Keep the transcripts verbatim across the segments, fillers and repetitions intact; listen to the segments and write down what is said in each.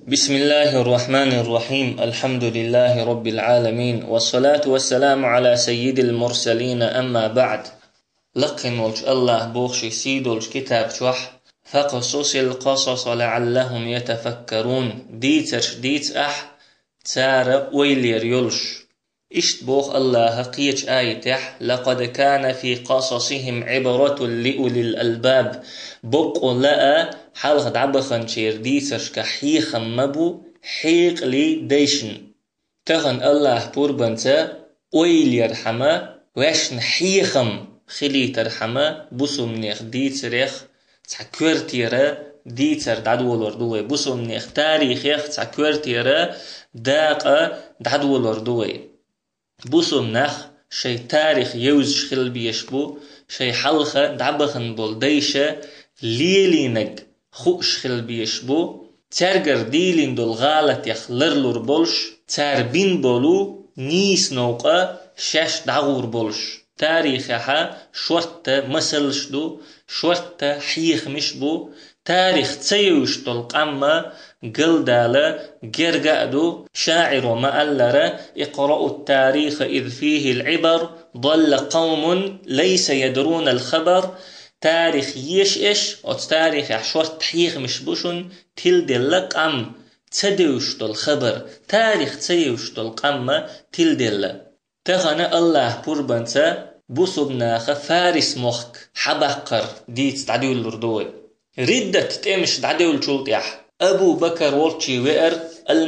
بسم الله الرحمن الرحيم. الحمد لله رب العالمين، والصلاة والسلام على سيد المرسلين. أما بعد، لقن ولش الله بوخش سيد ولش كتاب شوح فقصص القصص لعلهم يتفكرون. ديتش ديت أح تار ويلير يلش إشت بوخ الله قيش آيتح لقد كان في قصصهم عبرة لأولي الألباب. بقوا لأ حلق دعبخن شير ديتش كحيخ مبو حيق لي ديشن تغن الله بوربنتا ويلير حما واشن حيخم خلي ترحما بوسو منيخ ديتريخ تسكورتيرا ديتر دعدولور دوي بوسو منيخ تاريخيخ تسكورتيرا داقا دعدولور دوي بوسو منيخ شي تاريخ يوز شخل بيشبو شي حلخة دعبخن بول ديشة ليلينج خوش خل بيشبو ترجر ديلين دول غالت يخ لرلور بولش تربين بولو نيس نوقا شاش دعور بولش تاريخها شورتا مسلش دو شورتا حيخ مشبو تاريخ تسيوش دول قمة قلدالة جرقادو شاعر مألرة اقرأوا التاريخ إذ فيه العبر ضل قوم ليس يدرون الخبر. تاريخ يش إش أو تاريخ عشرة حيخ مش بوشن تلدلك أم تدوش دل خبر تاريخ تسيوش دل قمة تلدل تغنى الله بربنتا بوسبناخ فارس مخك حبقر ديت تعديل الردوي ردة تمش تعديل شلطيح أبو بكر والشي وئر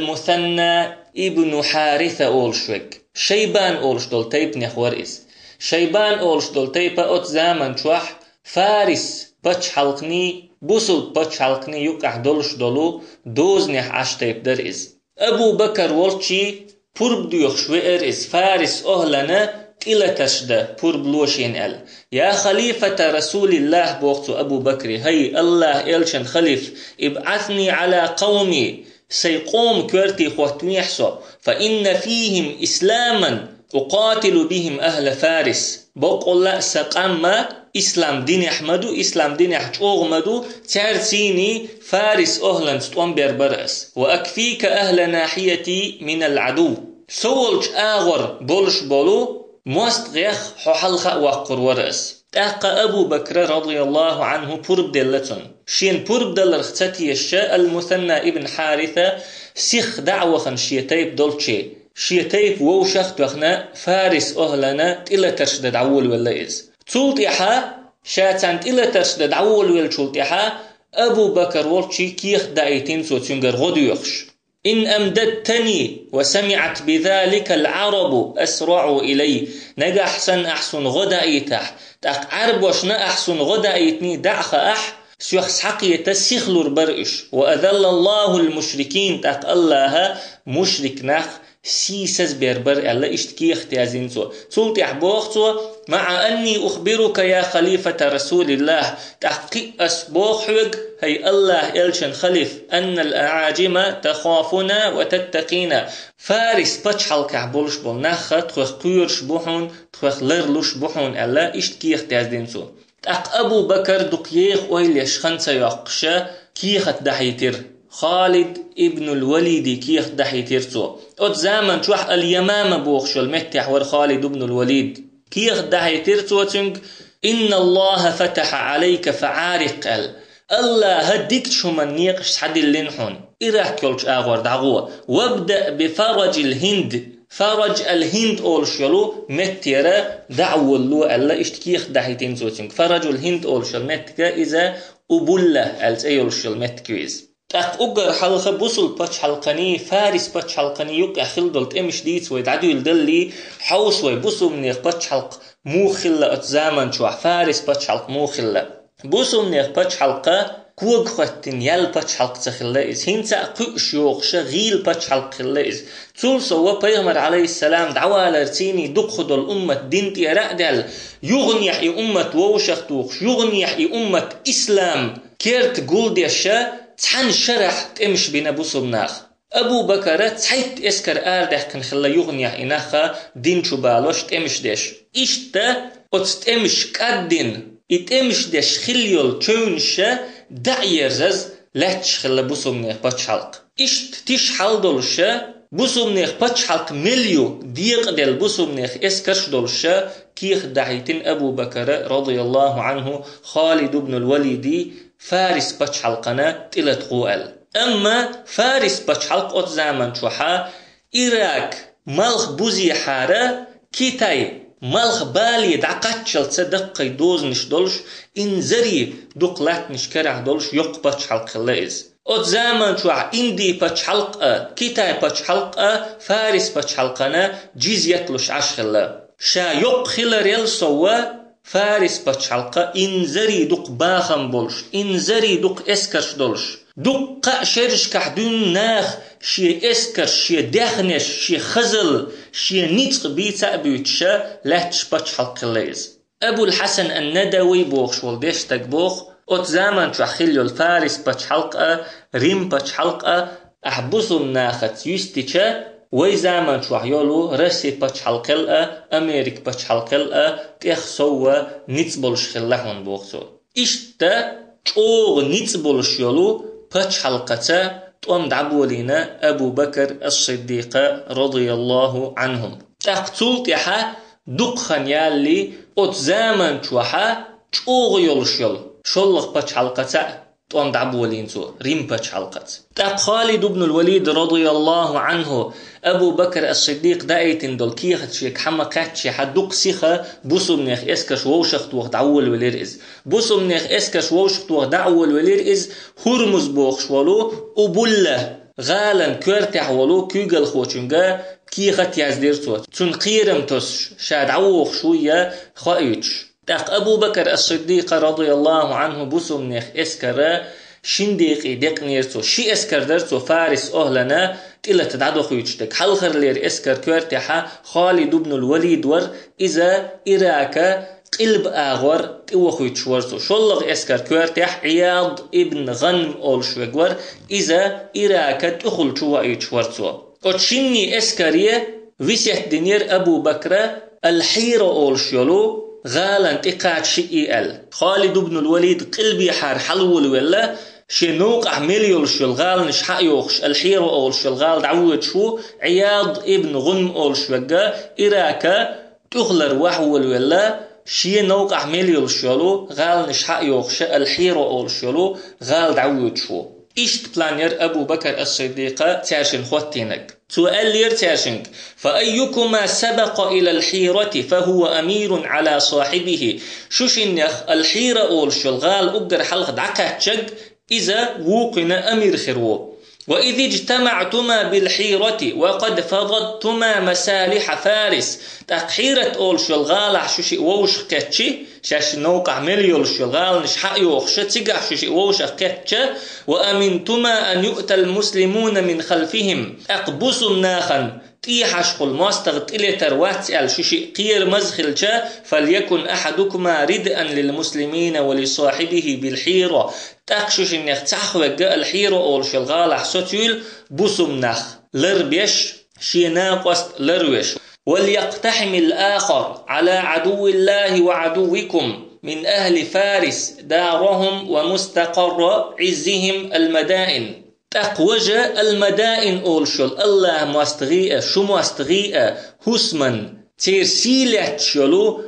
المثنى ابن حارثة أولشوك شيبان أولش دل تيب نخورئس شيبان أولش دل تيب أت زامن شوح فارس بچ حلقني بوسل بچ حلقني يقع دولش دولو دوزنح عشتيب در إز أبو بكر والشي پرب ديوخ شوئر إز فارس أهلنا تلتش ده پرب لوشين ال يا خليفة رسول الله بوقت أبو بكر هي الله إلشن خليف ابعثني على قومي سيقوم كورتي خوتمي حسو فإن فيهم إسلاما أقاتل بهم أهل فارس بقول لا سقما إسلام دين أحمدو إسلام دين أحمدو تارسيني فارس أهلا ستوان بربرأس وأكفيك أهل ناحيتي من العدو سولج آغر بولش بولو موست غيخ ححلخ وقر ورأس تاقى أبو بكر رضي الله عنه برب دلتن شين برب دلر اختتي الشاء المثنى ابن حارثة سيخ دعوة خنشيتيب دولتشي شيتيب ووشخ توخنا فارس أهلنا إلا ترشد دعول ولا إز تولتيحا شاتانت إلا ترشد دعول ولا تولتيحا أبو بكر والشي كيخ دايتين سوتينغر غديوخش إن أمددتني وسمعت بذلك العرب أسرعوا إلي نجا أحسن أحسن غدايتح تاق عرب وشنا أحسن غدايتني دعخ أح سيخ سحقية تسيخلور برئش وأذل الله المشركين تاق الله مشرك نخ سيسز بربر ألا اشتكي اختيازين سو سلطي أحبوخ مع أني أخبرك يا خليفة رسول الله تحقيق أسبوخوك هي الله إلشن خليف أن الأعاجم تخافنا وتتقينا فارس بچحل كعبولش بول نخ تخوخ قيرش بوحون تخوخ لرلوش بوحون ألا اشتكي اختيازين سو تاق أبو بكر دقيق ويليش خنسا يقشا كيخت دحيتر خالد ابن الوليد كيخ دحيترتو ات زامن شوح اليمامة بوخشو المتح ور خالد ابن الوليد كيخ دحيترتو تنك إن الله فتح عليك فعارق ال الله هديك شو من نيقش حد اللينحون إراح كلش آغور دعوة وابدأ بفرج الهند فرج الهند أولشلو متيرا دعو اللو ألا اشتكيخ دحيتين تنك فرج الهند أولشل متكا إذا أبوله ألت أيولشل متكويز تاق أقر حلقة بوصل باتش حلقاني فارس باتش حلقاني يقع خلدلت امش ديت ويدعدو يلدلي حوص ويبوصل منيخ باتش حلق مو خلة اتزامن شوح فارس باتش حلق مو خلة بوصل منيخ باتش حلقة كوغ خواتين يال باتش حلق تخلة إز هنسا قوش يوغشا غيل باتش حلق خلة إز تول سوا بيغمر عليه السلام دعوة لرسيني دقخدو الأمة دينتي رأدل يغنيح إي أمة ووشخ توخش يغنيح إي أمة إسلام كيرت قول ديشا تحن شرح تمش بين أبو صبناخ أبو بكر تحيت إسكر آردح كن خلا يغنيح إناخا دين شبالوش تمش ديش إشتا أتمش كادين إتمش ديش خليول تونشا دعيرزز لاتش خلا بو صبناخ باتش حلق إشت تيش حال دولشة بوسومنيخ باتش حالك مليو ديق دل بوسومنيخ إسكرش دولشة كيخ دعيتين أبو بكر رضي الله عنه خالد بن الوليد فارس باتش حلقنا تلت قوال. أما فارس باتش حلق أت زامن شوحا إيراك ملخ بوزي حارة كيتاي ملخ بالي دعقاتشل تصدق دوزنش دولش إنزري دقلاتنش كرع دولش يق باتش حلق الليز. أت زمان شوع إندي باتش حلقة كيتاي باتش حلقة فارس باتش حلقنا جيزيتلوش عشخلا شا يق خلريل سوا فارس باتش حلقة إنزري دق باخم بولش إنزري دق إسكرش دولش دق شرش كحدون ناخ شي إسكرش شي دخنش شي خزل شي نيتق بيتا بيتشا لاتش باتش حلقة ليز. أبو الحسن الندوي بوخش والديش تقبوخ أت زمان شو خليو الفارس باتش حلقة ريم باتش حلقة أحبسوا الناخت يستيشا وي زمان شو يولو رسي باتش حلقة أمريك باتش حلقة تيخ سوا نيتبولش خلاحون بوخسو إشتا تشوغ نيتبولش يولو باتش حلقة تقوم دعبولينا أبو بكر الصديق رضي الله عنهم تقتل تيحا دقخن يالي أت زمان شوحا تشوغ يولش يولو شلق باتش حلقة تقوم دعبولين سو ريم باتش حلقة تاب خالد بن الوليد رضي الله عنه أبو بكر الصديق دايتن دول كيخت شيك حما قاتشي حدوق سيخة بوسو منيخ إسكش ووشخت وقت دعول وليرئز بوسو منيخ إسكش ووشخت وقت دعول وليرئز هرمز بوخش ولو أبوله غالا كورتح ولو كيغل خوشنغا كيخت يازدير سوت تون قيرم توش شاد عوخ شوية خايتش تاق أبو بكر الصديق رضي الله عنه بوسو منيخ إسكرا شنديقي ديق نيرتو شي إسكر درتو فارس أهلنا تلا تدعدو خيوشتك حلخر لير إسكر كورتحا خالد بن الوليد ور إذا إراكا قلب آغور تيو خيوش ورسو شلغ إسكر كورتح عياض ابن غنم أولشوك ور إذا إراكا تخل شوى إيش ورسو وتشيني إسكرية ويسيح دينير أبو بكر الحيرة أولشيولو غالا تقاعد شيء ال خالد بن الوليد قلبي حار حلول ولا شي نوقع مليول شو الغال نش حقيوخش الحيرو أول شو الغال دعوت شو عياض ابن غنم أول شو وقا إراكا تغلر وحول ولا شي نوقع مليول شو غال نش حقيوخش الحيرو أول شو غال دعوت شو إشت بلانير أبو بكر الصديق تاشن خوتينك سؤال لير تاشنك فأيكما سبق إلى الحيرة فهو أمير على صاحبه شوشنيخ الحيرة أول شلغال أقدر حلق دعكاتشك إذا وقنا أمير خيرو وإذ اجتمعتما بالحيرة وقد فضضتما مسالح فارس تقحيرة أول شلغال شوشي ووش كتشي شاش نوقع مليول شلغال نش حقيوخش تيقع شوشي ووش كتشي وأمنتما أن يؤتى المسلمون من خلفهم أقبسوا الناخا تيحش قل ماستغط إلي ترواتي شوشي قير مزخلشا فليكن أحدكما ردءا للمسلمين ولصاحبه بالحيرة تاكشوش النخ تحوك الحيرة أول شلغال حسوتيل بوسم نخ لربيش شي ناقوست لرويش وليقتحم الآخر على عدو الله وعدوكم من أهل فارس دارهم ومستقر عزهم المدائن تقوج المدائن أولشل الله مستغيئة شو مستغيئة هسمن تيرسيلة شلو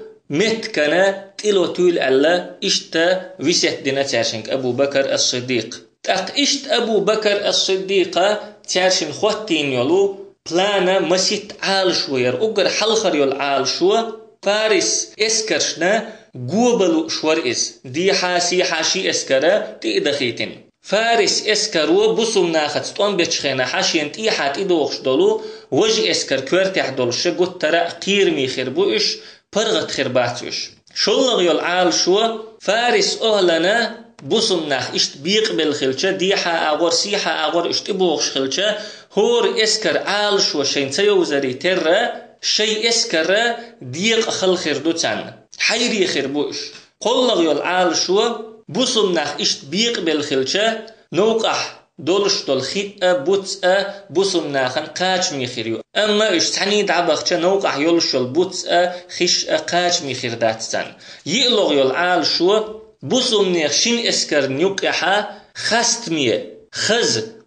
متكنا تلو تول الله اشتا ويسيت دينا تارشنك أبو بكر الصديق تق اشت أبو بكر الصديق تارشن خوتين يلو بلانا مسيت عال شوير اقر حلخر يول عال شو فارس اسكرشنا قوبلو شور اس دي حاسي حاشي اسكرا تقدخيتين فارس اسكرو بصم ناخد ستون بيتشخينا حاشين تيحات إدوخش دولو وجه اسكر كورتح دولش قد ترى قير ميخير بوش برغت خرباتوش شلغ يول عال شو فارس أهلنا بصم ناخ اشت بيق بالخلشة ديحا أغور سيحا أغور اشت إبوخش خلشة هور اسكر عال شو شين تيوزري ترى شي اسكر ديق خل خردو تان حيري خربوش قلغ يول عال شو بوسم ناخ اشت بيق بالخلشة نوقح دولش دول خيئة بوتسأ بوسم ناخن قاج ميخيريو أما اشت حنيد عبخشة نوقح يولش البوتسأ خيشأ قاج ميخير داتستان يقلغ يول عال شو بوسم ناخ شين اسكر نيوقحا خست ميه خز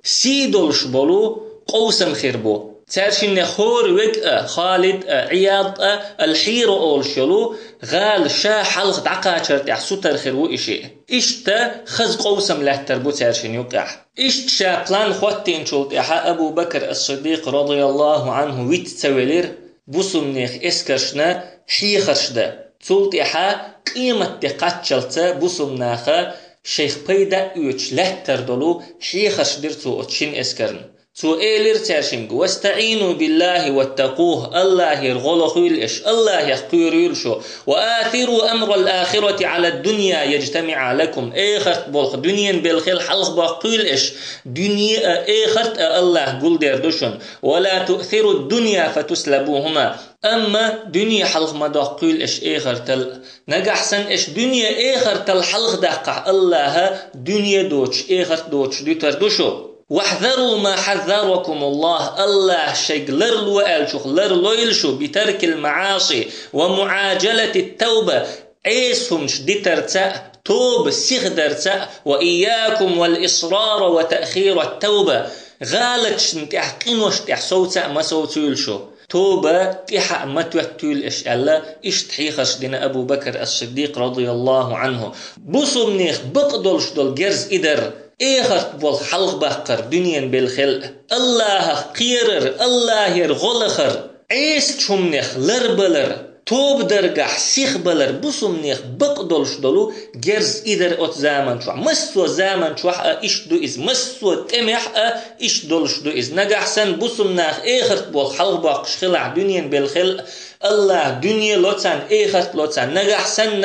سيدولش بولو قوسم خيربو تارشين خور وك خالد عياض الحير أولشلو غال شا حلق دعقاتر تح ستر خيرو إشي إشتا خز قوسم له تربو تارشين يقع إشت شا بلان خواتين شلت إحا أبو بكر الصديق رضي الله عنه ويت تولير بوسمنيخ إسكرشنا حيخرشدا تولت إحا قيمة تقاتشلتا بوسمناخا شيخ بيدا يوش له تردلو حيخرش درتو أتشين إسكرن تو إيلر ترشنج واستعينوا بالله واتقوه الله يرغل خيلش الله يخيريلشو وآثروا أمر الآخرة على الدنيا يجتمع لكم آخرت بالخ دنيا بالخيل حلق باقيلش دنيا آخرت الله قل دردشن ولا تؤثروا الدنيا فتسلبوهما أما دنيا حلق ما داقيلش آخرت نجح سن إش دنيا آخرت الحلق دقع الله دنيا دوتش آخرت دوتش دي تردشو واحذروا ما حذركم الله الله شيء لرلو ألشوخ لرلو يلشو بترك المعاصي ومعاجلة التوبة عيسهم شدترتا توب سيخدرتا وإياكم والإصرار وتأخير التوبة غالت شنتحقين وشتح صوتا ما صوتو يلشو توبة تحق ما توتول إش الله إش تحيخش دينا أبو بكر الصديق رضي الله عنه بوصو منيخ بقدلش دول جرز إدر إيخرت بول حلق بقر دنيا بالخلق الله قيرر الله يرغلخر عيس شمنيخ لربلر توب درجح سيخ بلر بوسمنيخ بقدلش دولو جرز إدر أت زامن شوح مسو زامن شوح إش دو إز مسو تمح إش دولش دو إز نجح سن بوسمناخ إيخرت بول حلق بقش خلع دنيا بالخلق الله دنيا لوتسان إيخرت لوتسان نجح سن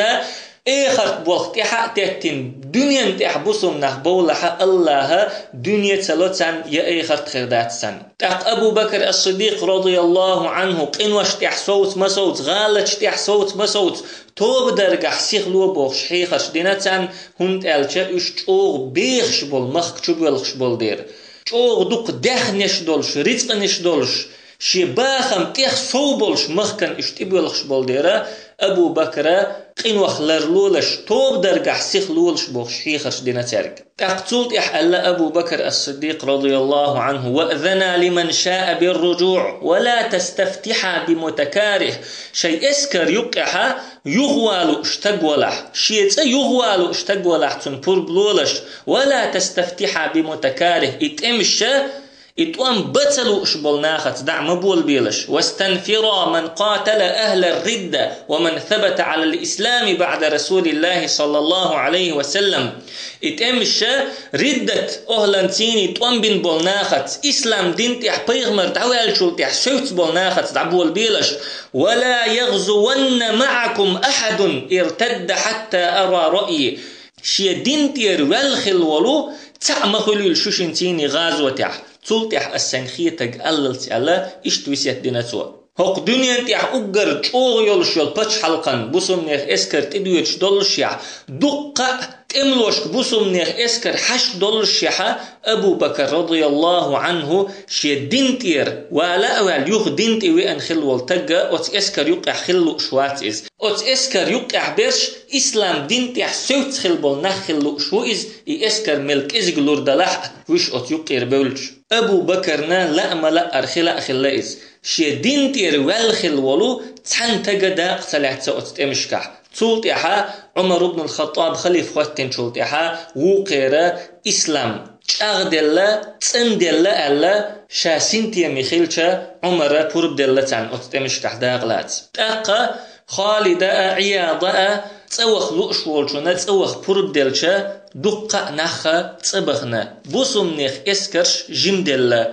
إخرت بوقت حق تهتين دنيا تحبسهم نخبولها الله دنيا تلوتان يا إخرت خردات سن تق أبو بكر الصديق رضي الله عنه قنوش تحصوت مسوت غالش تحصوت مسوت توب درجح سيخلو بوخش حيخش دينتان هند ألشا إش تشوغ بيخش بول مخ تشوبلخش بول دير تشوغ دوق دخنش دولش رزقنش دولش شي باخم تيخ صوبلش مخكن إش تبلخش بول ديرا أبو بكر قنوخ لرلولش توب درجح سيخلولش بوخش حيخش دينا تارك تقتلت إحألا أبو بكر الصديق رضي الله عنه وأذنا لمن شاء بالرجوع ولا تستفتح بمتكاره شيء اسكر يقعها يغوالو اشتقولح شيء يغوالو اشتقولح تنبور بلولش ولا تستفتح بمتكاره اتمش اتوان بتلو اشبول ناخت دع مبول بيلش واستنفرا من قاتل أهل الردة ومن ثبت على الإسلام بعد رسول الله صلى الله عليه وسلم اتمش ردة أهلنتيني اتوان بين بول ناخت إسلام دين تح بيغمر دعوال شول تح سوت بول ناخت دع بول بيلش ولا يغزون معكم أحد ارتد حتى أرى رأيي شي دين تير والخل ولو تعمخلو الشوشنتيني غازوة تح تلتح السنخية تقللت على اشتويسيت ديناتوا هق دنيا تح أقر تشوغ يولش يول باتش حلقان بوسمنيخ اسكر تدويتش دولش يح دقة تملوش بوسمنيخ اسكر حش دولش يح أبو بكر رضي الله عنه شي دينتير ولا أول يوخ دينتي وين خلو التقى أت اسكر يقع خلو شوات إز أت اسكر يقع برش إسلام دينتي سوت خلبول نخلو شو إز اسكر ملك إز قلور دلح وش أت يقير بولش أبو بكرنا لا ملا أرخلا أخلا إز شي دينتير والخل ولو تحن تقدا قتلعت سوت امشكح تولت إحا عمر بن الخطاب خليف خواتين تولت إحا وقيرا إسلام أغدلا تندلا ألا شاسنتي ميخيلشا عمر بورب دلا تان أتمشكح داغلات تاقا خالدة عياضة تسوخ لؤشولشونا تسوخ بورب دلشا دقة نخا تسبخنا بوسمنيخ اسكرش جمدلا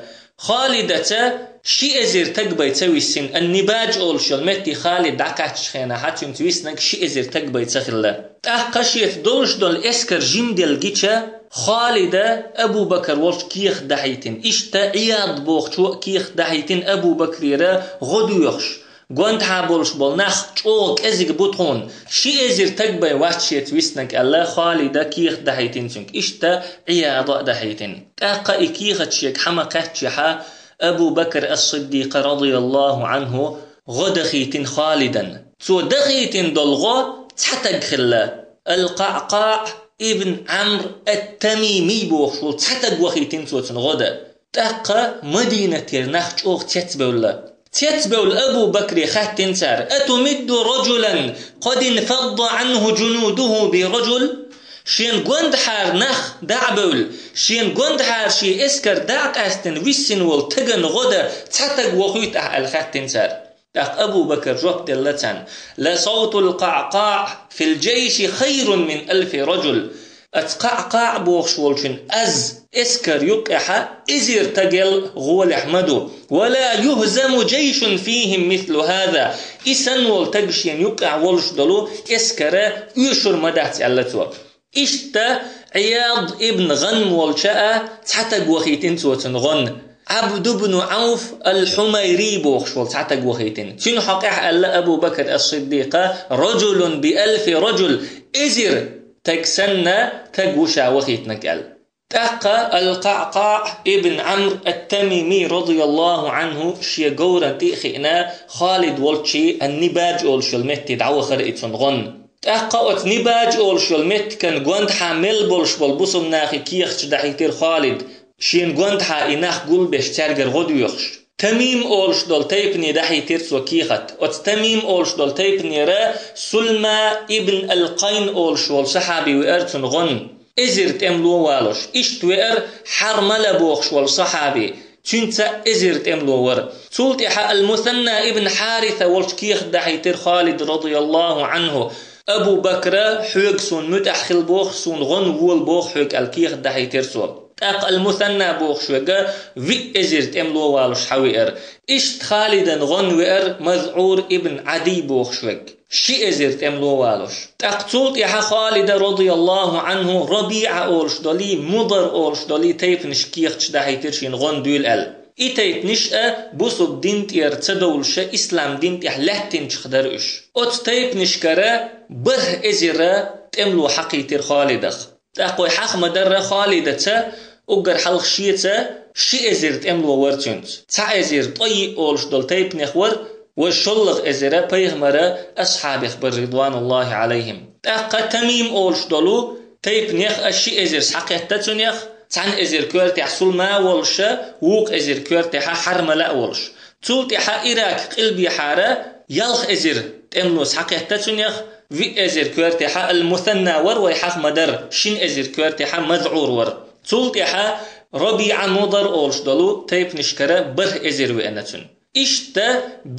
خالدة شي ازير تقبي تسوي السن النباج اولشل متي خالد دعكاتش خينا حتى تسويسنك شي ازير تقبي تسخلا تاقشيت دولش دول اسكر جمدل جيتشا خالدة أبو بكر ولش كيخ دحيتين إشتا عياد بوخ شو كيخ دحيتين أبو بكر غدو يخش قوانت حابولش بولناخ چوك ازيق بوتخون شي ازير تقبي واتشيت ويسنك الله خالدة كيخ دحيتين سنك إشتا عياد دحيتين تاقا إكيخ تشيك حمقات شحا أبو بكر الصديق رضي الله عنه غدخيتين خالدا سو دخيتين دلغو تحتق خلا القعقاع ابن عمرو التميمي بوخشول تحتق وخيتين سوتن غدا تاقا مدينة تيرناخ چوغ تتبولا تتبول أبو بكر خاتن سار أتمد رجلا قد انفض عنه جنوده برجل شين قند حار نخ دعبول شين قند حار شي اسكر دعت استن ويسن والتقن غدا تحتق وخيت الخاتن سار تاق أبو بكر جوب دلتان لصوت القعقاع في الجيش خير من ألف رجل اتقعقاع بوخشولشن از اسكر يقح ازير تقل غول احمدو ولا يهزم جيش فيهم مثل هذا اسن والتقشين يقع ولش دلو اسكر يشر مدات علتو اشتا عياض ابن غنم والشاء تحتق وخيتين سوتن غن عبد بن عوف الحميري بوخشول تحتق وخيتين شنو حقيح ألا أبو بكر الصديق رجل بألف رجل ازير تكسنا تقوشا وخيتنك ال تاقا القعقاع ابن عمرو التميمي رضي الله عنه شي قورا تيخينا خالد والشي النباج اولشل مت دعوة خرئتن غن تاقا ات نباج اولشل مت كان قوند حامل بولش بالبصم ناخي كيخش دحيتير خالد شين قوند حا اناخ قل بش تارجر غدو يخش تميم اولش دول تيبني دحي تيرسو كيخت ات تميم اولش دول تيبني را سلمى ابن القين اولش والصحابي وارتن غن ازرت املو والوش اشت وير حرمل بوخش والصحابي تنسى ازرت املو ور سلطح المثنى ابن حارثة والش كيخ دحي تير خالد رضي الله عنه ابو بكر حوق سون متأخل بوخ سون غن وول بوخ حوق الكيخ دحي تيرسو تاق المثنى بوخشوغا في ازرت املو والوش حوير اشت خالدا غن وير مذعور ابن عدي بوخشوغ شي ازرت املو والوش تاق تولت يحا خالد رضي الله عنه ربيع اولش دولي مضر اولش دولي تيب نشكيخ تشدحي ترشين غن دول ال ايتيت نشأ بوصب دين تير تدولش اسلام دين تيح لحتين تخدرش ات تيب نشكرا بره ازرا تملو حقي تير خالدخ تاقوي حق مدر خالدة اقر حلق شيتا شي ازرت املو ورتنت تا ازر طي اولش دول تيب نخور وشلغ ازرا بيغمرا اصحاب اخبر رضوان الله عليهم تاقا تميم اولش دولو تيب نخ اشي ازر سحقيتتو نخ تان ازر كورتي حصول ما ولش ووق ازر كورتي حرملا ولش تولتي حا اراك قلبي حارة يلخ ازر تملو سحقيتتو نخ في ازر كورتي حا المثنى ور ويحق مدر شين ازر كورتي حا مذعور ور تولتي حا ربيع مضر اولش دولو تيب نشكرا بر ازر وانتون اشتا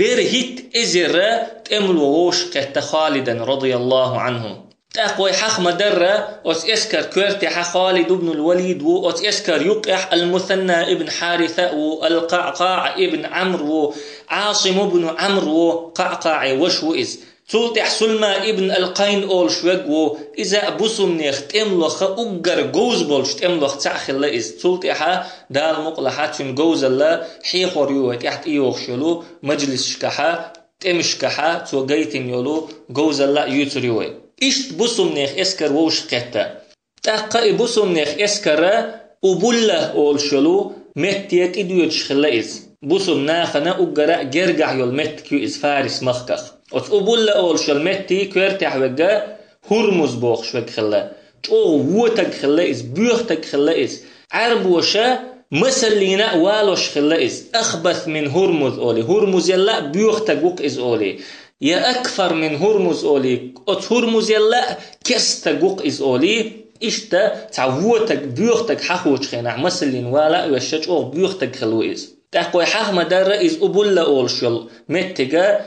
برهت ازر تملو ووش كهت خالدا رضي الله عنه تاقوي حق مدر اوس اسكر كورتي حا خالد بن الوليد و اوس اسكر يقح المثنى ابن حارثة والقعقاع ابن عمرو عاصم بن عمرو قعقاع وشو إز تولتح سلمى ابن القين أول شوق إذا بصم نيخت املخ أجر جوز بولش املخ تأخل إز تولتحها دال مقلحات من جوز الله حيخور يوه تحت إيوخ شلو مجلس شكحة تمشكحة توجيتين يلو جوز الله يتريوه إشت بصم نيخ إسكر ووش قتا تأقى بصم نيخ إسكر وبله أول شلو متيت إدويت شخل إز بصم ناخنا أجر جرجع يل مت كيو إز فارس مخكخ ات أبول أول شلمتي كورتح وجا هرمز بوخ شوك خلا أو ووتك خلا إز بيوختك خلا إز عرب وشا مسلينا والوش خلا إز أخبث من هرمز أولي هرمز يلا بيوختك وق إز أولي يا أكثر من هرمز أولي ات هرمز يلا كستك وق إز أولي إشتا تعوتك بيوختك حخوش خينا مسلين والا وشج أو بيوختك خلو إز تاقوي حق مدار إز أبول أولشل متجا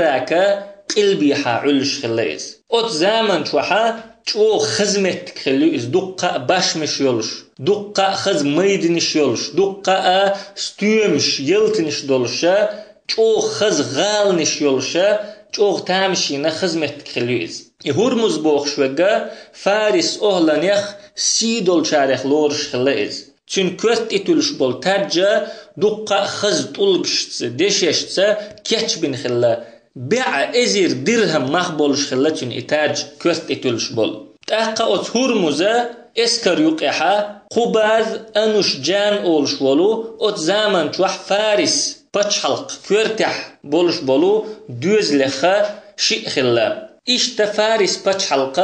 إراكا قلبي حا علش خلايز أت زمن شوحا شو خزمت خلو إز دقة باش مش يلش دقة خز ميدنش يلش دقة ستيمش يلتنش دولشا شو خز غالنش يلشا شو تامشينا خزمت خلو إز هرمز بوخ شوغا فارس أهلانيخ سيدول شارخ لورش خلايز چون كورت اتولش بول ترجا دقة خز طلقشتس دششتس كيتش بن خلا بيع ازير درهم مخبولش خلا چون اتاج كورت اتولش بول تاقا ات هرمزا اسكر يقحا خباز انوش جان اولش بولو ات زامن چوح فارس بچ حلق كورتح بولش بولو دوز لخا شي خلا اشتا فارس بچ حلقا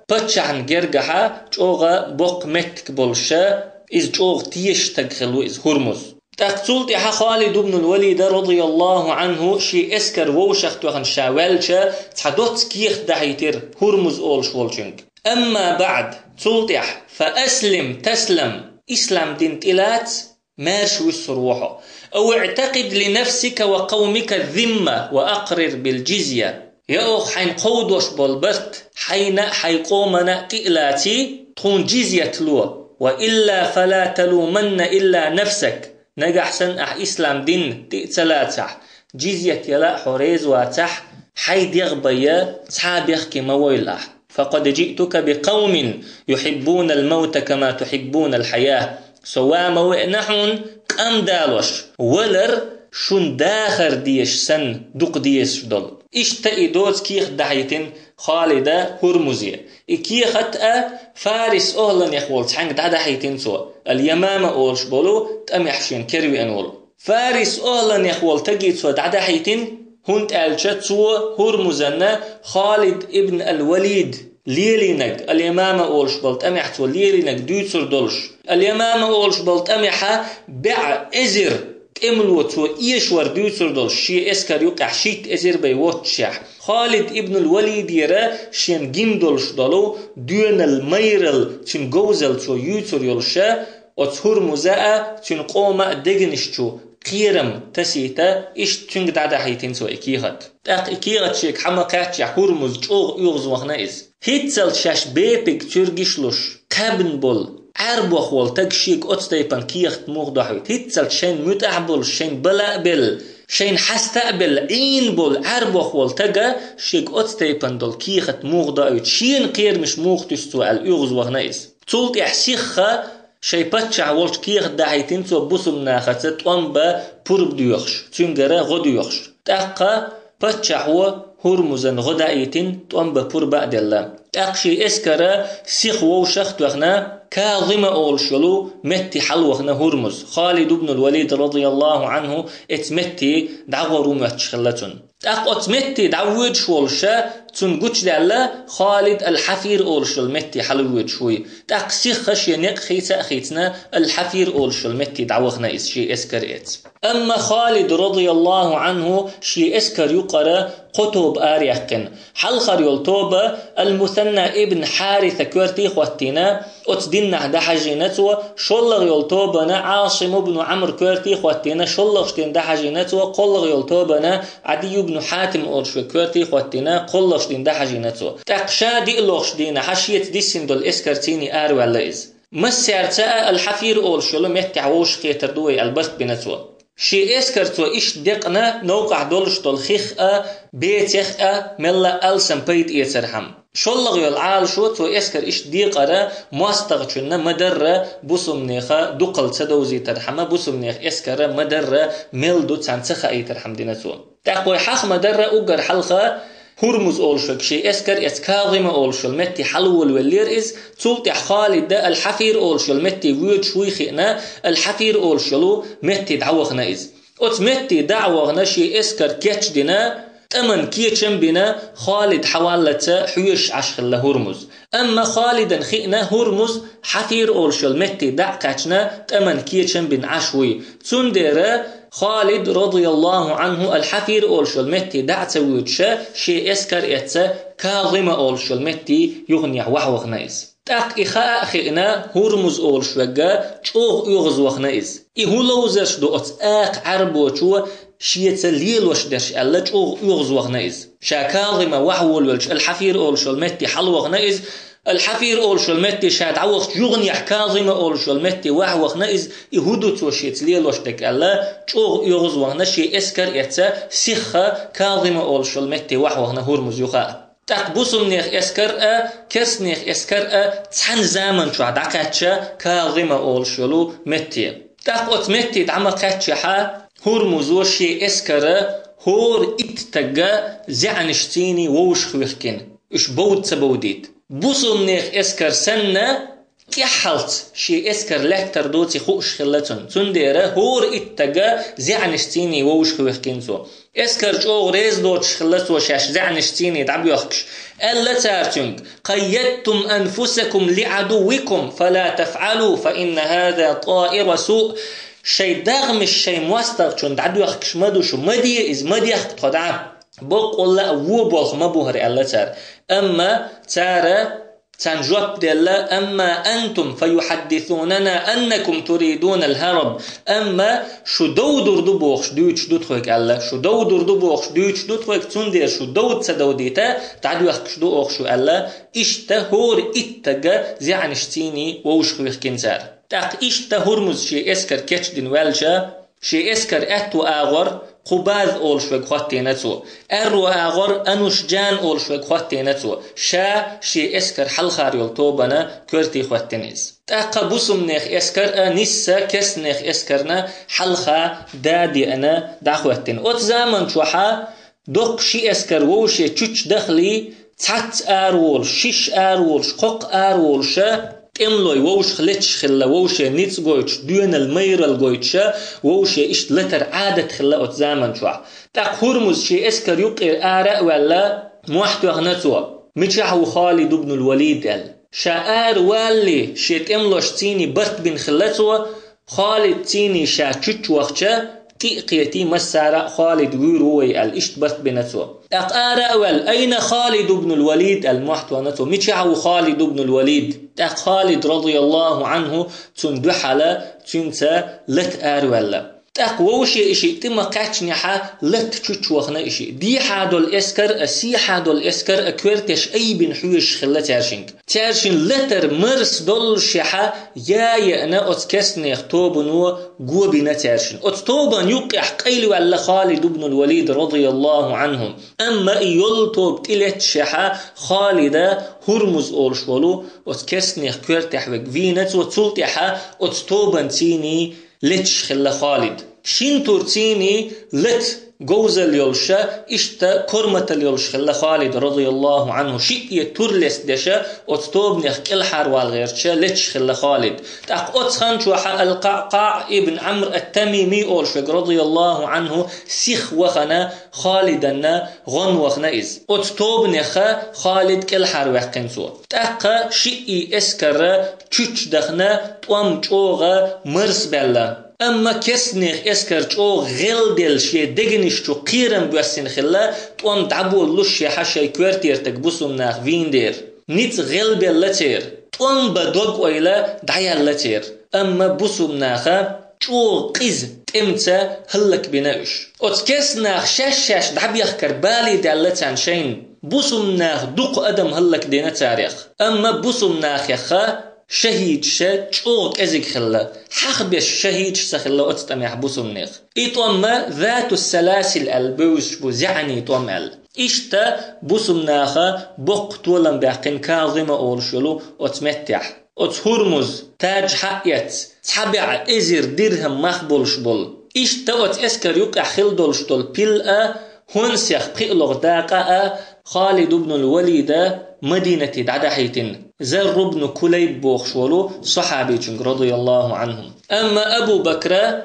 بتشعن جرجحة جوغا بوق متك بولشا إز جوغ تيش تغخلو إز هرمز تقتلت يا خالد بن الوليد رضي الله عنه شي اسكر ووشخ توخن شاولشا تحدوت كيخ دحيتر هرمز أول شولشنك أما بعد تلتح فأسلم تسلم إسلام دين تلات مارش وسروحه أو اعتقد لنفسك وقومك الذمة وأقرر بالجزية يا أخ حين قودوش بالبرت حين حيقومنا قئلاتي تكون جزية لو وإلا فلا تلومن إلا نفسك نجح سن أح إسلام دين تأتلاتح جزية يلا حريز واتح حيد يغبيا صحاب يخكي مويلح فقد جئتك بقوم يحبون الموت كما تحبون الحياة سوا موئنحون قام دالوش ولر شون داخر ديش سن دوق ديش دول اشتئي دوز كيخ دعيتن خالدة هرمزية كيخ أتأ فارس أهلا يخول تحنك دا دحيتن سوا اليمامة أولش بولو تأم يحشين كروي أنول فارس أهلا يخول تجيت سوا دا دحيتن هنت ألشت سوا هرمزنا خالد ابن الوليد ليلينك اليمامة أولش بولت أم يحتو ليلينك دوتسر دولش اليمامة أولش بولت أم يحا بع إزر تأملو تو إيشور دوتسر دولش شي إسكر يوقع شيت إزر بيوتشح خالد ابن الوليد يرى شين جندولش دولو دون الميرل تين جوزل تو يوتر يولشا وتهر مزاء تين قوما دقنشتو قيرم تسيتا إيش تنق دادا حيتين سو إكيغت تاق إكيغت شيك حمقات يحورمز جوغ يغز وخنائز هيتسل شاش بيبك ترغشلوش قابن بول عربوخ والتاق شيك أتستيبان كيغت مغدوحويت هيتسل شين متعبول شين بلابل شين حستقبل عين بول عربوخ والتاقا شيك أتستيبان دول كيغت مغدوحويت شين قير مش مغتستو على يغز وخنائز تولت يحسيخها شي باتشع والش كيخ داعيتين سو بوسم ناخت طنبا بورب ديوخش تنجرا غديوخش تاقا باتشع هو هرمزن غدايتين طنبا بوربا دلا تاقشي اسكرا سيخ ووشخ توخنا كاظم اولشلو متي حلوخنا هرمز خالد بن الوليد رضي الله عنه اتمتي دعورو متشخلتون تاق اتمتي دعوج شولشا تنقوش دالا خالد الحفير أولشل متي حلوة شوي تاق سيخش ينق خيسا خيتنا الحفير أولشل متي دعوخنا إس شي اسكر إت أما خالد رضي الله عنه شي اسكر يقرأ قطب آريخن حلخر يلطوبة المثنى ابن حارثة كورتي خواتينا اتدنا دحجينتو شلغ يلطوبنا عاصم بن عمر كورتي خواتينا شلغ شتين دحجينتو قلغ يلطوبنا عدي بن حاتم أولشو كورتي خواتينا قلغ دين ده حاجيناتو تقشا دي لوخش دينا حشيت دي سندول اسكرتيني ار ولا از مسيرتا الحفير اول شلو متعوش خيتر دوي البرت بنتو شي اسكرتو ايش دقنا نوقع دولش دول خيخ بيتخ ملا السم بيت يترحم شلغ يلعال شو تو اسكر ايش ديقرا ماستغچنا مدر بوسم نيخه دقل تدوزي ترحمه بوسم نيخ اسكر مدر ميلدو تنسخ اي ترحم دينتو تقوي حق مدر اوغر حلقه هرمز أولشك شيء اسكر اسكاظم أولشل متي حلول واللير إز تلت خالد الحفير أولشل متي ويد شوي خينا الحفير أولشلو متي دعوغنا إز أت متي دعوغنا شيء اسكر كيتش دينا تمن كيتشن بنا خالد حوالته حيش عشخل هرمز أما خالدا خينا هرمز حفير أولشل متي دعكتنا تمن كيتشن بن عشوي تندر خالد رضي الله عنه الحفير أولشل متي دعت ويتشا شي اسكر اتسا كاظمة أولشل متي يغنيح وحوخنايز تاق إخاء خينا هرمز أولشوغا چوغ يغز وخنايز إهو لوزرش دو اتاق عربو چو شيتا ليل وش درش ألا چوغ يغز وخنايز شا كاظمة وحول والش الحفير أولشل متي حلو وخنايز الحفير أولشل متي شاد عوخ يغنيح كاظمة أولشل متي وحوخنا إز يهودو توشيت ليل وشتك ألا چوغ يغز وخنا شي اسكر اتسا سيخة كاظمة أولشل متي وحوخنا هرمز يخاء تقبوسم نيخ اسكر ا كس نيخ اسكر ا تحن زامن شو عدقاتشا كاظمة أولشلو متي تقوت متي دعما قاتشا هرمزو شي اسكر هور اتتقا زعنشتيني ووش خويخكين اش بود سبوديت بوسم نيخ اسكر سنة كحلت شي اسكر لكتر دوتي خوش خلتن تنديره هور اتجا زعنشتيني ووش خوخكينسو اسكر جو ريز دوتش خلتو شاش زعنشتيني دعب يخكش ألا تارتنك قيدتم أنفسكم لعدوكم فلا تفعلوا فإن هذا طائر سوء شي دغم الشي موستغ دعب يخكش مدوشو مدي إز مدي يخك تدعب بقول لا وو بولخ مبوهر ألا تار أما تارا تنجوب دلا أما أنتم فيحدثوننا أنكم تريدون الهرب أما شو دودر دبوخش دوتش دوتخوك ألا شو دودر دبوخش دوتش دوتخوك تندير شو دود سدوديتا تعدو يخكش دوخشو ألا إشتا هور إتجا زعنشتيني ووشخوخ كنسار تاق إشتا هرمز شي إسكر كتش دين والجا شي إسكر أتو آغر قباذ أول شوي خواتينتو أرو آغر أنوش جان أول شوي خواتينتو شا شي إسكر حلخار يلطوبنا كورتي خواتينيز تاقا بوسم نيخ إسكر نسا كس نيخ إسكرنا حلخا دادي أنا دا خواتين أوت زامن شوحا دوق شي إسكر ووشي تشوش دخلي تات آرول شيش آرول شقوق آرول شا املوي ووش خلتش خلا ووش نيتس غويتش دون المير الغويتش ووش إشت لتر عادة خلا أوت زامن شوح تاق هرمز شي إسكر يقير آراء ولا موحد وغنتوا متشعو خالد بن الوليد ال شاعر والي شيت املوش تيني برت بن خلتوا خالد تيني شا تشوش وقتشا قيقيتي مسارة خالد ويروي الاشت برت بنتو اقارا ول اين خالد بن الوليد المحتوى نتو متشعو خالد بن الوليد اق خالد رضي الله عنه تندحل تنسى لت ارولا تقووشي اشي تم قاتشنحا لت تشوخنا اشي دي حادو الاسكر اسي حادو الاسكر اكورتش اي بن حوش خلا تارشنك تارشن لتر مرس دول شحا يا يانا اتكسني اختوبنو قوبنا تارشن اتطوبن يقع قيل ولا خالد بن الوليد رضي الله عنهم اما يلطوب تلت شحا خالد هرمز اولشولو اتكسني اختورتح وقفينت وتلتحا اتطوبن تيني لتش خلا خالد شين تورتيني لت جوزل يلشا اشتا كرمة يلش خلا خالد رضي الله عنه شيء تورلس دشا اتطوب نخ الحر والغيرشا لتش خلا خالد تاق اتخن شوحا القعقاع ابن عمرو التميمي اولش رضي الله عنه سيخ وخنا خالدنا غن وخنا از اتطوب نخ خالد كالحر وقنسو تاق شيء اسكر تشوش دخنا توام جوغا مرس بلا اما كسنيخ اسكر جو غلدل شي دغنيش جو قيرم بوسين خلا توم دعبو لوش حشي كوارتير تكبسم ناخ فيندير نيت غلبل لتير توم بدوق ويلا دعيا لتير اما بوسم ناخا جو قيز تمتا هلك بناش اتكس ناخ شاش شاش دعب يخكر بالي دالتان شين بوسم ناخ دوق ادم هلك دينا تاريخ اما بوسم ناخ يخا شهيد شا تشوق ازيك خلا حخبش شهيد سخلا اتستمع حبوسم نيخ ايطوم ذات السلاسل البوش بوزعني طومل اشتا بوسم ناخا بوق طولن باقين كاظمة اولشلو اتمتح اتهرمز تاج حقيت تحبع ازير درهم مخبولش بول اشتا ات اسكر يقع خلدولش دول بيلأ هونسيخ بقلغ داقا خالد بن الوليد مدينة دعدحيتن زر بن كليب بوخشولو صحابي رضي الله عنهم أما أبو بكر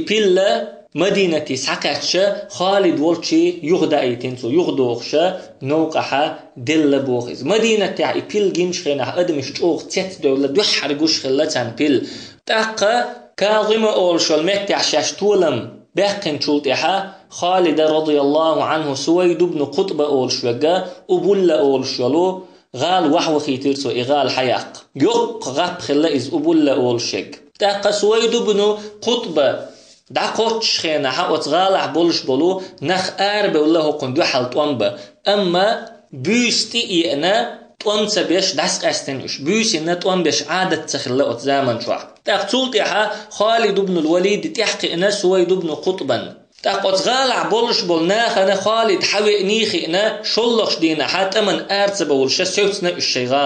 إبلا مدينة سعكاتشا خالد والشي يغدا ايتنسو يغدوخشا نوقحا دل بوخز مدينة تاع إبل جنش خينا أدمش جوغ تيت دولة دو حرقوش خلتان بيل تاقا كاظمة أولشو المتع شاش طولم باقن شلطحا خالد رضي الله عنه سويد بن قطب أولشوغا أبولا أولشولو غال وحوخي ترسو إغال حياق يق غاب خلا إز أبولا أولشيغ تاقا سويد بن قطب داقوتش خينا حاوت غالع بولش بولو نخ آرب والله قندو حال طوانبا أما بيستي إينا طوانسا بيش داس قاستنوش بيس إنا طوان بيش عادة تخلا أتزامن شوح تاق تولتحا خالد بن الوليد تحقي إنا سويد بن قطبا تاق أتغالع بولش بولناخنا خالد حوي نيخي إنا شلخش دينا حتى من آرتس بولشا سوتنا الشي غالع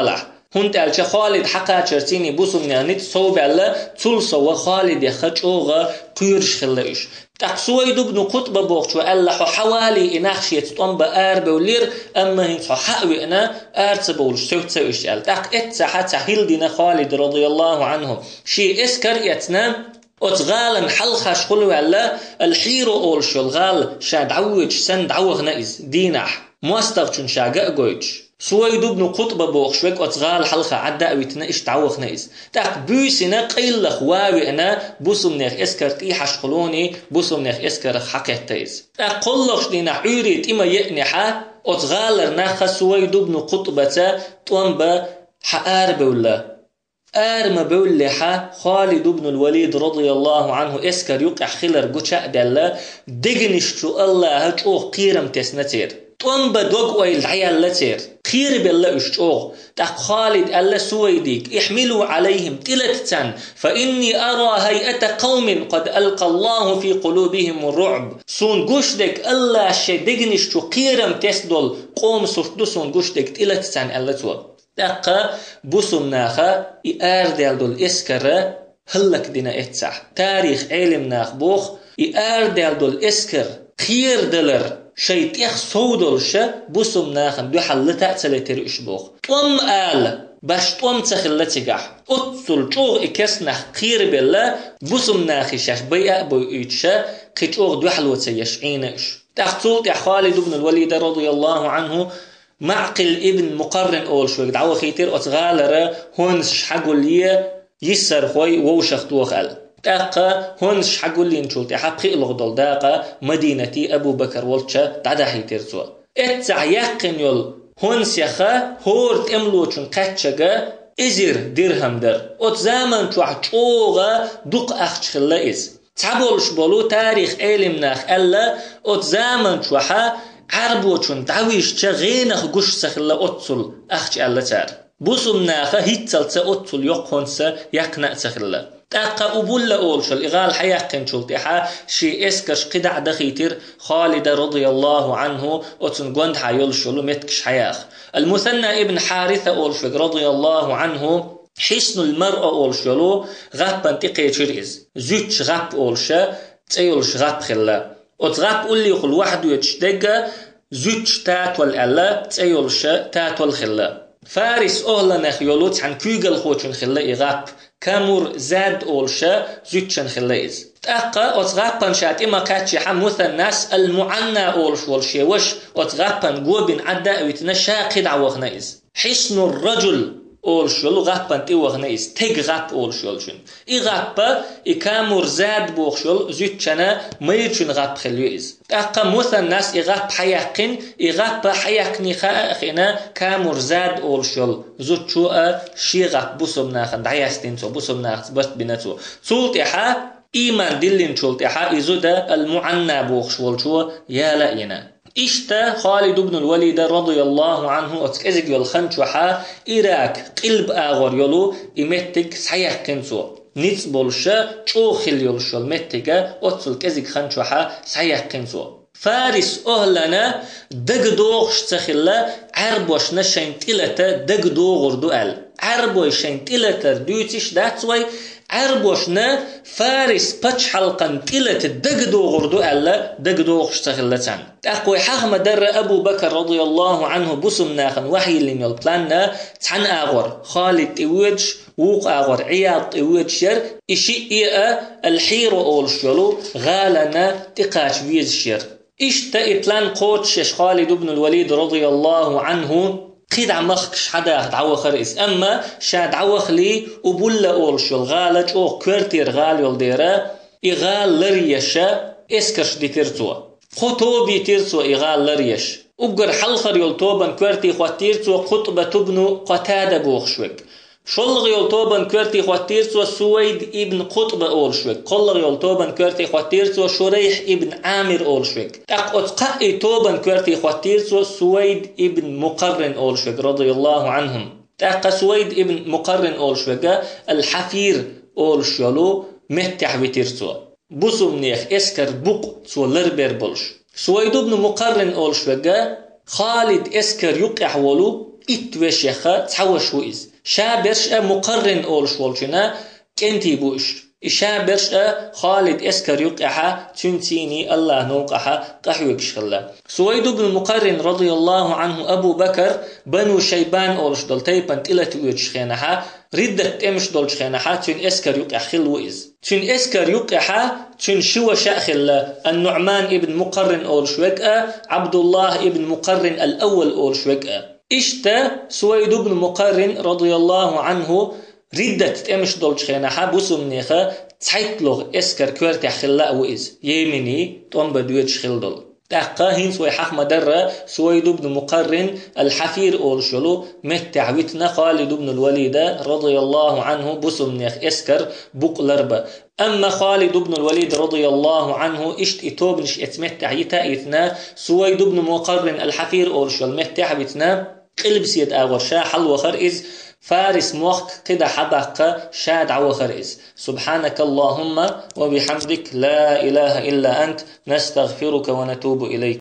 هنت ألش خالد حقا شرتيني بوسم نانيت صوب على تلصو خالد يخجوغ قيرش خلاش تاق سويد بن قطب بوقت وألا حوالي إناخشية طنب آرب ولير أما هنت حقوي أنا آرت بولش سوت سويش أل تاق إتسا حتى هلدنا خالد رضي الله عنه شي إسكر يتنام أتغالا حلخش قلو على الحيرو أولشو الغال شاد عوج سند عوغ نائز دينح مواستغشن شاقا قويج سويد بن قطب بوخشوك أتغال حلخة عدا ويتنا إش تعوغ نائز تاق بوسنا قيل خواوي أنا بوسم نيخ إسكر تيحش قلوني بوسم نيخ إسكر حقيت تايز تاق قلقش دينا عوريت إما يأنحا أتغال رناخ سويد بن قطبة طنب حقار بولا آرم بولحة خالد بن الوليد رضي الله عنه إسكر يقع خلر قشاء دالله دقنشتو الله هجوه قيرم تسنتير طنب دوق ويل عيال لتير خير بالله اشتوغ تاق خالد الله سويديك احملوا عليهم تلتتان فإني أرى هيئة قوم قد ألقى الله في قلوبهم الرعب سون قشدك الله شي دقنشتو قيرم تسدل قوم سفتو سون قشدك تلتتان الله تو دقا بوسم ناخا إياردل دول إسكر هلك دينا إتسح تاريخ علم ناخ بوخ إياردل دول إسكر خير دلر شيت يخ صودل شا بوسم ناخن دو حلتا تلتر إشبوخ طم آل باش طم تخلتيقح أتصل جوغ إكسنخ خير بالله بوسم ناخي شاش بيئة بيئتشا قيتوغ دو حلوة يشعينش تخطول يا خالد بن الوليد رضي الله عنه معقل ابن مقرن أول شوي دعوة خيتر أتغالر هونش حقول لي يسر خوي ووشخ توخال داقا هونش حقول لي نشولت حقي الغدل داقا مدينتي أبو بكر والتشا دعدا خيتر سوا اتسع يقن يول هونس يخا هورت املوچن قاتشغا ازير درهم در ات زمن تو عطوغا دوق اخش خلا از تعبولش بولو تاريخ علم ناخ الا ات زمن تو ح عربوچن داويش چا غينخ گوش سخلا اتسل اخش الا تار بوسم ناخ هيتسلت اتسل يقونس يقنا سخلا تاقا أبولا أولشل إغال حياقن شلتحا شي إسكش قدع دخيتر خالد رضي الله عنه وتنقوند حيولشلو متكش حياخ المثنى ابن حارثة أولشل رضي الله عنه حسن المرأة أولشلو غابا تقيتر إز زوتش غاب أولشا تيولش غاب خلا وتغاب أولي يقول واحد يتشدق زوتش تاتول ألا تيولش تاتول خلا فارس أهلا نخيولوت عن كيغل خوشن خلا إغاب كامور زاد أولشا زوتشن خلايز تأقى أتغابن شات إما كاتشي حموث الناس المعنى أولش والشي وش أتغابن قوبين عدا ويتنشا قد عوغنايز حسن الرجل أولشلو غابن تيوغنايز تيغ غاب أولشلشن إغابا إكامور زاد بوغشل زوتشنا ميرشن غاب خليوز تأقى موث الناس إغاب حياقين إغابا حياقني خائخنا كامور زاد أولشل زوتشو شي غاب بوسم ناخن دعياستين سو بوسم ناخن بست بناتو سولتحا إيمان دلين شولتحا إزودا المعنى بوغشولشو يا لأينا إشتا خالد بن الوليد رضي الله عنه أتكزق يلخنشوحا إراك قلب آغر يلو إمتك سحيح كنسو نيتس بولشا چوخل يلشو المتك أتسل كزق خنشوحا سحيح كنسو فارس أهلنا دق دوغش تخلا عربوش نشين تلتا دق دوغر دوال عربوش شين تلتا دوتش داتوي عربوشنا فارس بچ حلقن تلت دق دوغر دوال دق دوغش تخلتان أقوي حغم در أبو بكر رضي الله عنه بسم ناخن وحي اللي يلبلان تحن آغر خالد إيوج ووق آغر عياض إيوج شر إشي إيئة الحيرو أول شلو غالنا تقاش بيز شر إشتا إبلان قوتش خالد بن الوليد رضي الله عنه قيد عمخش حدا تعوخ رئيس أما شاد عوخ لي وبولا أولشل غالج أو كورتير غال يلديرا إغال لريشا إسكش دي ترتوا خطوبي ترتوا إغال لريش أقر حلخر يلطوبا كورتي خواتيرتوا خطبة تبنو قتادة بوخشوك شلغ يلطوبا كورتي خواتيرتوا سويد ابن قطبة أولشوك قلغ يلطوبا كورتي خواتيرتوا شريح ابن عامر أولشوك أقعد قائي توبا كورتي خواتيرتوا سويد ابن مقرن أولشوك رضي الله عنهم تأقى سويد ابن مقرن أولشوك الحفير أولشولو متح بتيرتوا بوسم نيخ اسكر بوق سو لربير بولش سويد ابن مقرن أولشوك خالد اسكر يقع ولو اتوشيخا تحوش وإز شابرش مقرن أولش والشنا كنتي بوش إشابرش خالد إسكر يقعها تنتيني الله نوقعها قحوك شخلا سويد بن المقرن رضي الله عنه أبو بكر بنو شيبان أولش دول تيبان تلت ويتشخينها ردت امش دول شخينها تن إسكر يقع خلوئز تن إسكر يقعها تن شو شأخل النعمان ابن مقرن أولش وكأ عبد الله ابن مقرن الأول أولش وكأ إشتا سويد بن مقرن رضي الله عنه ردت امش دول شخينها بوسم نيخا تحيطلغ إسكر كورت خلا وإز يمني طن بدويتش خل دول تحقاهن سوي حق مدرة سويد بن مقرن الحفير أولشلو متعوتنا خالد بن الوليد رضي الله عنه بسمنيخ إسكر بقلربا أما خالد بن الوليد رضي الله عنه إشت إتوبنش إتمتع يتايتنا سويد بن مقرن الحفير أولشل متعوتنا قلب سيد آغرشا حل وخرئز فارس موخ قد حبق شاد عوخرئز سبحانك اللهم وبحمدك لا إله إلا أنت نستغفرك ونتوب إليك.